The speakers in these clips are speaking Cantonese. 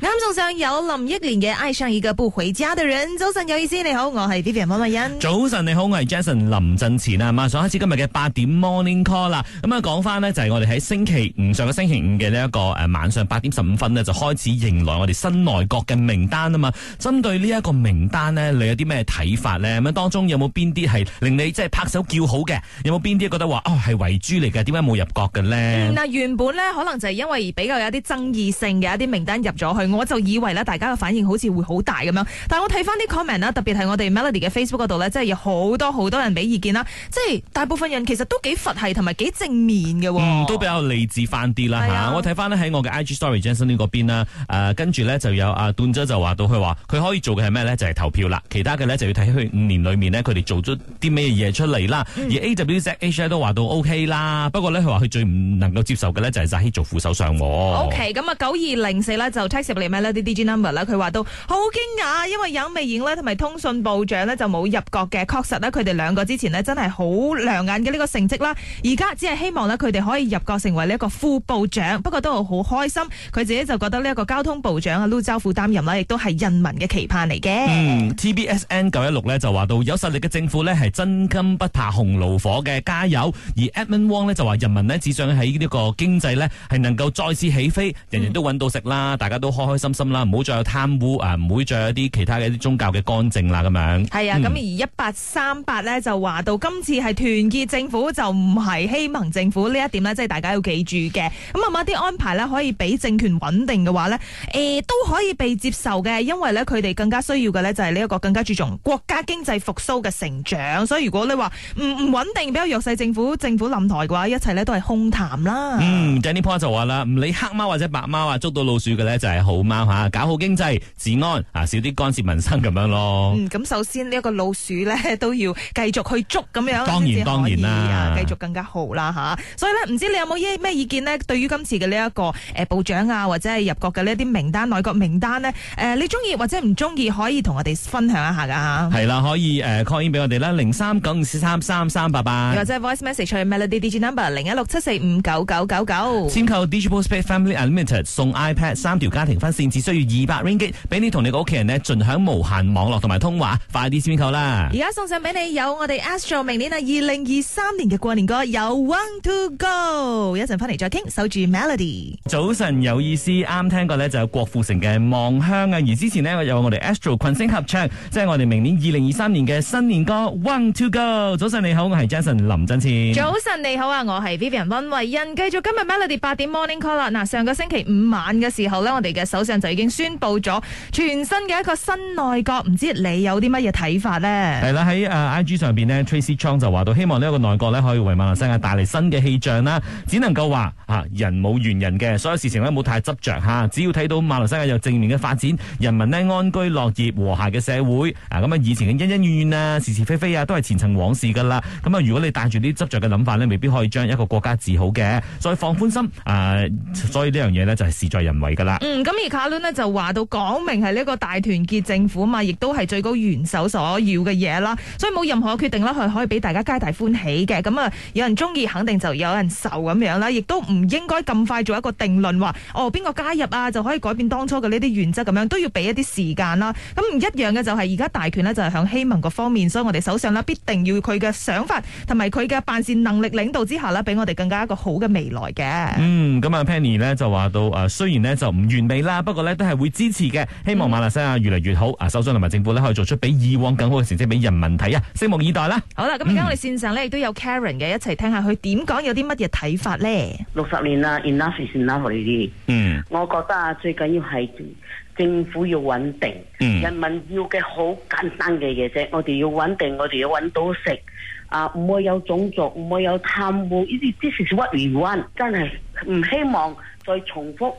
啱送上有林憶蓮嘅《愛上一個不回家的人》。早晨有意思，你好，我係 Vivian 溫慧欣。 早晨你好，我係 Jason 林振前啊。馬上開始今日嘅8點 Morning Call 啦。咁啊講翻呢，就係我哋喺上個星期五嘅呢一個晚上8點15分呢，就開始迎來我哋新內閣嘅名單啊嘛。針對呢一個名單呢，你有啲咩睇法呢？咁當中有冇邊啲係令你即係拍手叫好嘅？有冇邊啲覺得話係遺珠嚟嘅？點解冇入閣嘅呢？ 嗱，原本呢，可能就係因為比較有啲爭議性嘅一啲名單入咗去，我就以為咧大家嘅反應好似會好大咁樣。但係我睇翻啲 comment 啦，特別係我哋 Melody 嘅 Facebook 嗰度咧，即係有好多人俾意見啦。即係大部分人其實都幾佛系同埋幾正面嘅， 都比較理智翻啲啦嚇。我睇翻咧喺我嘅 IG Story Jason 呢嗰邊啦，跟住咧就有阿段姐就話到佢話佢可以做嘅係咩咧？就係投票啦。其他嘅咧就要睇佢5年裏面呢，佢哋做咗啲咩嘢出嚟啦。而 AWZH 都話到 OK 啦，不過咧佢話佢最唔能夠接受嘅咧就係扎希做副首相。 OK， 咁啊9204咧就 text 入嚟 Melody DG number 啦，佢話到好驚訝，因為有美瑩咧同埋通訊部長咧就冇入閣嘅。確實咧佢哋兩個之前呢真係好亮眼嘅呢個成績啦，而家只係希望咧佢哋可以入閣成為呢一個副部長，不過都好開心。佢自己就覺得呢一個交通部長啊陸兆福擔任啦，亦都係人民嘅期盼嚟嘅。 TBSN 916咧就話到有實力嘅政府咧係真金不怕紅爐火嘅，加油。而 Edmund Wong 咧就話人民呢只想喺呢個經濟咧係能夠再次起飛，人人都揾到食啦，大家都開開心心啦，唔好再有貪污唔會再有啲其他嘅一啲宗教嘅干政啦咁樣。 係啊，咁而1838咧就話到今次係團結政府就唔係希盟政府，呢一點咧即係大家要記住嘅。咁某啲安排咧可以俾政權穩定嘅話咧，都可以被接受嘅，因為咧佢哋更加需要嘅咧就係呢一個更加注重國家經濟復甦嘅成長。所以如果你話唔穩定比較弱勢政府冧台嘅話，一切咧都係空談啦。 Danny Paul 就話啦，唔理黑貓或者白貓捉到老鼠嘅咧就係好貓吓，搞好經濟治安少啲干涉民生咁樣咯。 咁首先呢一個老鼠咧都要繼續去捉咁樣， 當然啦， 繼續更加好啦吓。所以咧唔知你有冇咩意見呢？對於今次嘅呢一個部長或者係入閣嘅呢啲名單內閣名單呢，你中意或者唔中意可以同我哋分享一下噶吓。 係啦，可以call in 俾我哋啦，0395433388， 或者 voice message 去 Melody Digi number 0167459999。 簽購 Digital Space Family Unlimited 送 iPad 3條家庭分線，只需要200 ringgit， 俾你同你個屋企人呢盡享無限網絡同埋通話，快啲簽購啦！ 而家送上俾你有我哋 Astro 明年2023年嘅過年歌有 One to Go， 一陣翻嚟再傾，守住 Melody。 早晨有意思，啱聽過呢就有郭富城嘅望鄉啊，而之前呢有我哋 Astro 群星合唱，即係我哋明年2023年嘅新年歌 One to Go。早晨你好，我係 Jason 林振前。 早晨你好啊，我係 Vivian 溫慧欣。繼續今日 Melody 8點 Morning Call 啦。嗱，上個星期五晚嘅時候呢，我哋嘅首相就已經宣布咗全新嘅一個新內閣，唔知你有啲乜嘢睇法呢？ 係啦，喺IG 上邊呢 Tracy Chong 就話到希望呢一個內閣呢可以為馬來西亞帶嚟新嘅氣象啦。只能夠話人冇完人嘅，所有事情呢冇太執着吓，只要睇到馬來西亞有正面嘅發展，人民呢安居樂業和諧嘅社會咁以前嘅恩恩怨怨啊、是是非非都係前塵往事噶啦。咁如果你帶住啲執着嘅諗法呢，未必可以將一個國家治好嘅。再放寬心所以呢樣嘢呢就係事在人為噶啦。咁而卡倫呢就話到講明係呢個大團結政府嘛，亦都係最高元首所要嘅嘢啦。所以冇任何決定啦，係可以俾大家皆大歡喜嘅。咁有人中意，肯定就有人受咁樣啦。亦都唔應該咁快做一個定論，話邊個加入就可以改變當初嘅呢啲原則咁樣，都要俾一啲時間啦。咁唔一樣嘅就係而家大權呢，就係向希盟個方面，所以我哋首相呢，必定要佢嘅想法同埋佢嘅辦事能力領導之下呢，俾我哋更加一個好嘅未來嘅。 咁Penny 呢就話到雖然呢就唔完美啦，不過呢都係會支持嘅。希望馬來西亞越嚟越好，首相同埋政府呢可以做出比以往更好嘅成績俾人民睇啊！拭目以待啦。好啦， 咁而家我哋線上呢亦都有 Karen 嘅，一齊聽下佢點講，有啲乜嘢睇法呢 ？60年啦 ，enough is enough 呢啲。我覺得最緊要係政府要穩定，人民要嘅好簡單嘅嘢啫。我哋要穩定，我哋要揾到食，唔會有種族，唔會有貪污。呢啲 this is what we want， 真係唔希望再重複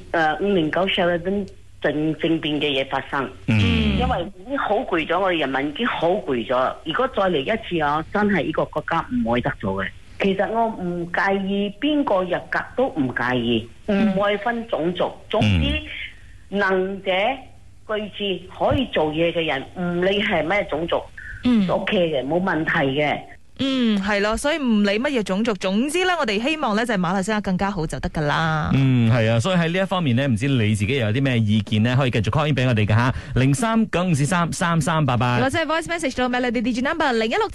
509 Sheraton 政變嘅嘢發生。因為已經好攰咗，我哋人民已經好攰咗。如果再嚟一次真係呢個國家唔會得咗嘅。其實我唔介意邊個入閣都唔介意，唔會分種族。總之能者具智可以做嘢嘅人，唔理係咩種族，OK 嘅，冇問題嘅。 係咯，所以唔理乜嘢種族，總之咧，我哋希望咧就係馬來西亞更加好就得噶啦。 係啊，所以喺呢一方面呢，唔知你自己有啲咩意見呢？可以繼續 call in 俾我哋噶吓，0395433388， 或者係 voice message 到 Melody Digi Number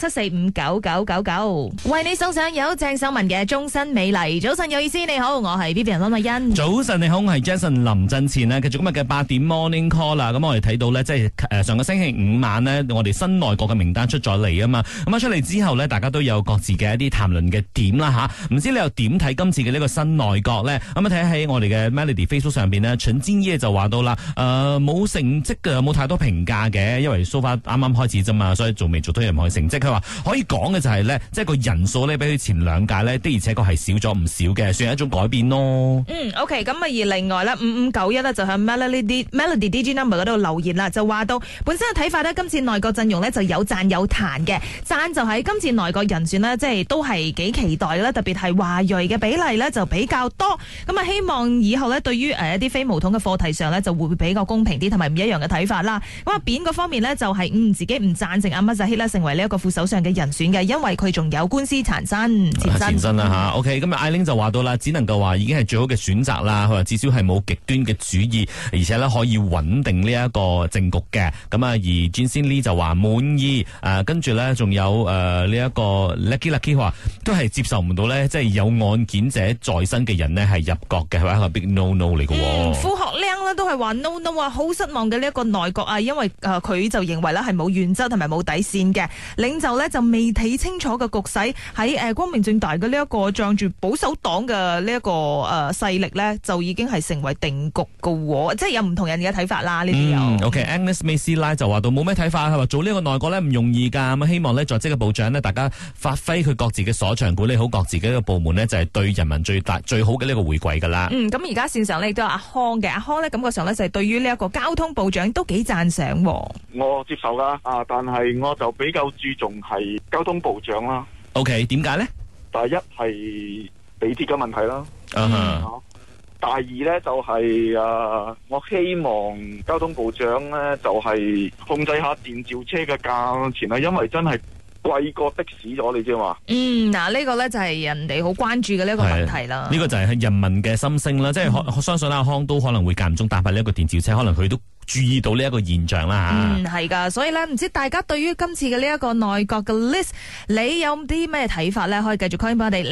0167459999，為你送上有鄭秀文嘅終身美麗。早晨有意思，你好，我係 Vivian 溫慧欣。 早晨你好，我係 Jason 林振前啦。繼續今日嘅8點 Morning Call 啦。咁我哋睇到呢，即係上個星期五晚呢，我哋新內閣嘅名單出咗嚟啊嘛。咁出嚟之後呢，大家都有各自嘅一啲談論嘅點啦吓。唔知你又點睇今次嘅呢個新內閣呢？咁睇喺我哋嘅 Melody Facebook 上邊呢，陳堅耶就話到啦，冇成績嘅，冇太多評價嘅，因為 so far 啱啱開始啫嘛，所以仲未做到任何成績。佢話可以講嘅就係呢，即係個人數呢，比佢前兩屆呢，的而且確係少咗唔少嘅，算係一種改變咯。 OK， 咁啊而另外呢，5591呢，就喺 Melody DG Number 嗰度留言啦，就話到本身嘅睇法呢，今次內閣陣容呢，就有讚有彈嘅，讚就喺今次內閣人選呢，即係都係幾期待啦，特別係華裔嘅比例呢，就比較多，咁啊希望以後呢，對於一啲非巫統嘅課題上呢，就會比較公平啲同埋唔一樣嘅睇法啦。咁啊扁嗰方面呢，就係自己唔贊成阿末扎希啦成為呢一個副首相嘅人選嘅，因為佢仲有官司纏身前身啦吓。OK， 咁艾玲就話到啦，只能夠話已經係最好嘅選擇啦。佢話至少係冇極端嘅主義，而且呢可以穩定呢一個政局嘅。咁啊而 Jinsin Lee 就話滿意，跟住呢，仲有呢一個 Lucky 話都係接受唔到呢，即係有案件者在身嘅人呢係入閣嘅，係一個 big no no 嚟嘅。 傅學亮呢都係話 no no 啊，好失望嘅呢一個內閣啊，因為佢就認為呢係冇原則同埋冇底線嘅領袖呢，就未睇清楚嘅局勢，喺光明正大嘅呢一個仗住保守黨嘅呢一個勢力呢，就已經係成為定局嘅，即係有唔同人嘅睇法啦。呢啲有。 OK，Agnes Maysi 就話到冇咩睇法，佢話做呢個內閣呢唔容易噶，咁希望呢在職嘅部長呢，大家發揮佢各自嘅所長，管理好各自嘅一個部門呢，就係對人民最好嘅呢個回饋噶啦。 咁而家線上呢亦都有阿康嘅，阿康呢感覺上呢就係對於呢一個交通部長都幾讚賞。 我接受啦，但係我就比較注重係交通部長啦。 OK， 點解呢？ 第一係地鐵嘅問題啦。第二呢，就係我希望交通部長呢，就係控制下電召車嘅價錢啦，因為真係貴過的士咗，你知嘛？ 呢個呢就係人哋好關注嘅呢一個問題啦。 呢個就係人民嘅心聲啦，即係我相信阿康都可能會間唔中搭下呢一個電召車，可能佢都注意到呢一個現象啦。 係噶，所以咧唔知大家對於今次嘅呢一個內閣嘅 list， 你有啲咩睇法咧？可以繼續 call 俾我哋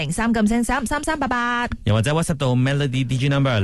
03933388， 又或者 WhatsApp 到 Melody DJ Number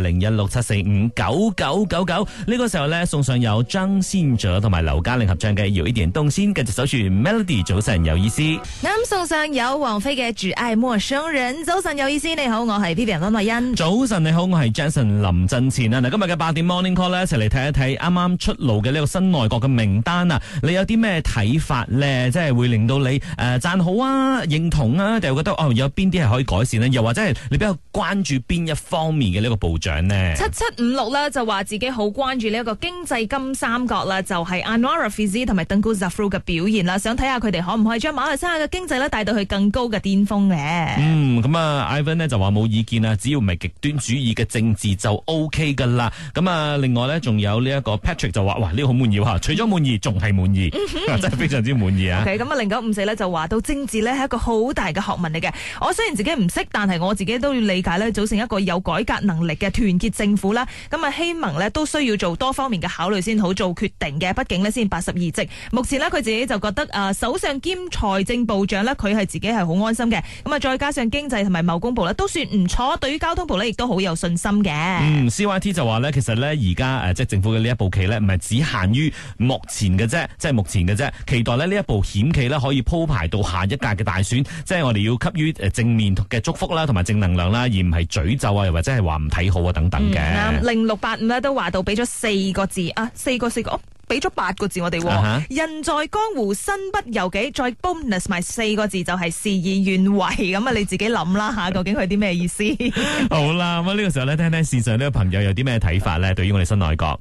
0167459999。呢個時候咧送上有張信哲同埋劉嘉玲合唱嘅《有一點動心》，繼續守住 Melody 早晨有意思。 啱送上有王菲嘅《只愛陌生人》，早晨有意思。你好，我係 Vivian 溫慧欣。 早晨你好，我係 Jason 林振前啊！嗱，今日嘅8點 Morning Call 咧，一齊嚟睇一睇啱出爐嘅呢個新內閣嘅名單啊，你有啲咩睇法咧？即係會令到你讚好啊、認同啊，定係覺得有邊啲係可以改善呢？又或者係你比較關注邊一方面嘅呢個部長呢？7756 咧就話自己好關注呢一個經濟金三角啦，就係 Anwar Rafizi 同埋 Tengku Zafrul 嘅表現啦，想睇下佢哋可唔可以將馬來西亞嘅經濟咧帶到去更高嘅巔峰嘅。 咁啊 Ivan 呢就話冇意見啊，只要唔係極端主義嘅政治就 OK 噶啦。咁啊，另外咧仲有呢一個 Patrick 就話哇，呢個好滿意吓，除咗滿意仲係滿意，真係非常之滿意啊。OK， 咁啊0954咧就話到政治咧係一個好大嘅學問嚟嘅。我雖然自己唔識，但係我自己都要理解咧，組成一個有改革能力嘅團結政府啦。咁啊，希盟咧都需要做多方面嘅考慮先好做決定嘅。畢竟咧先82席，目前咧佢自己就覺得首相兼財政部長咧佢係自己係好安心嘅。咁啊，再加上經濟同埋貿工部咧都算唔錯，對於交通部咧亦都好有信心嘅。CYT 就話咧，其實咧而家即係政府嘅呢一步棋咧，唔係只限於目前嘅啫，即係目前嘅啫。期待咧呢一步險棋咧可以鋪排到下一屆嘅大選，即係我哋要給予正面嘅祝福啦，同埋正能量啦，而唔係詛咒啊，又或者係話唔睇好啊等等嘅。0685咧都話到俾咗4個字啊，四個。俾咗8個字我哋，人在江湖身不由己，再 bonus 埋4個字就係事與願違。咁啊，你自己諗啦吓，究竟佢啲咩意思？好啦，咁呢個時候咧，聽聽線上呢個朋友有啲咩睇法咧？對於我哋新內閣。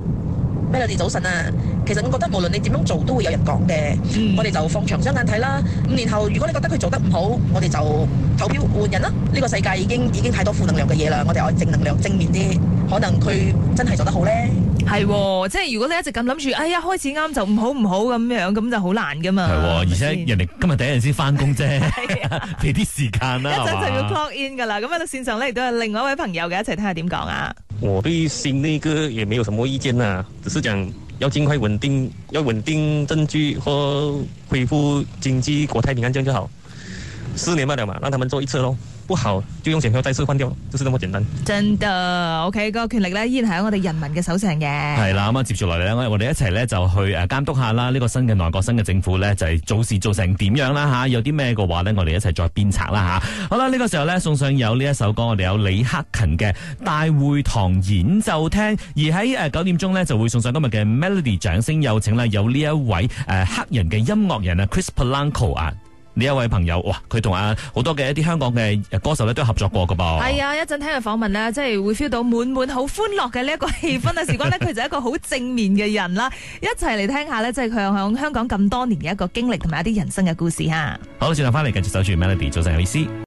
Melody早晨啊，其實我覺得無論你點樣做都會有人講嘅，我哋就放長雙眼睇啦。5年後如果你覺得佢做得唔好，我哋就投票換人啦。呢個世界已經太多負能量嘅嘢啦，我哋愛正能量正面啲。 可能佢真係做得好咧。 係，即係如果你一直咁諗住，哎呀開始啱就唔好咁樣，咁就好難噶嘛。 係，而且人哋今日第一日先翻工啫，俾啲時間啦。 一陣就要 clock in 噶啦。咁喺度線上咧亦都有另外一位朋友嘅，一齊聽下點講啊。 我對新那個也沒有什麼意見啊，只是講要盡快穩定政局和恢復經濟國泰平安，這樣就好。4年罷了嘛，讓他們做一次咯。不好就用選票再次換掉，就是這麼簡單。 真的 ，OK，個權力咧依然係喺我哋人民嘅手上嘅。 係啦，咁啊接住落嚟咧，我哋一齊咧就去監督下啦，呢個新嘅內閣、新嘅政府咧就係做事做成點樣啦吓，有啲咩嘅話咧，我哋一齊再鞭策啦吓。好啦，呢個時候咧送上有呢一首歌，我哋有李克勤嘅《大會堂演奏廳》，而喺9點鐘咧就會送上今日嘅 Melody 掌聲有請啦，有呢一位黑人嘅音樂人啊 Chris Polanco 啊。呢一位朋友，哇！佢同好多嘅一啲香港嘅歌手咧都合作過噶噃。係啊，一陣聽佢訪問咧，即係會 feel 到滿好歡樂嘅呢一個氣氛啊！事關咧，佢就係一個好正面嘅人啦。一齊嚟聽下咧，即係佢響香港咁多年嘅一個經歷同埋一啲人生嘅故事嚇。好，轉頭翻嚟繼續守住 Melody，早晨有意思。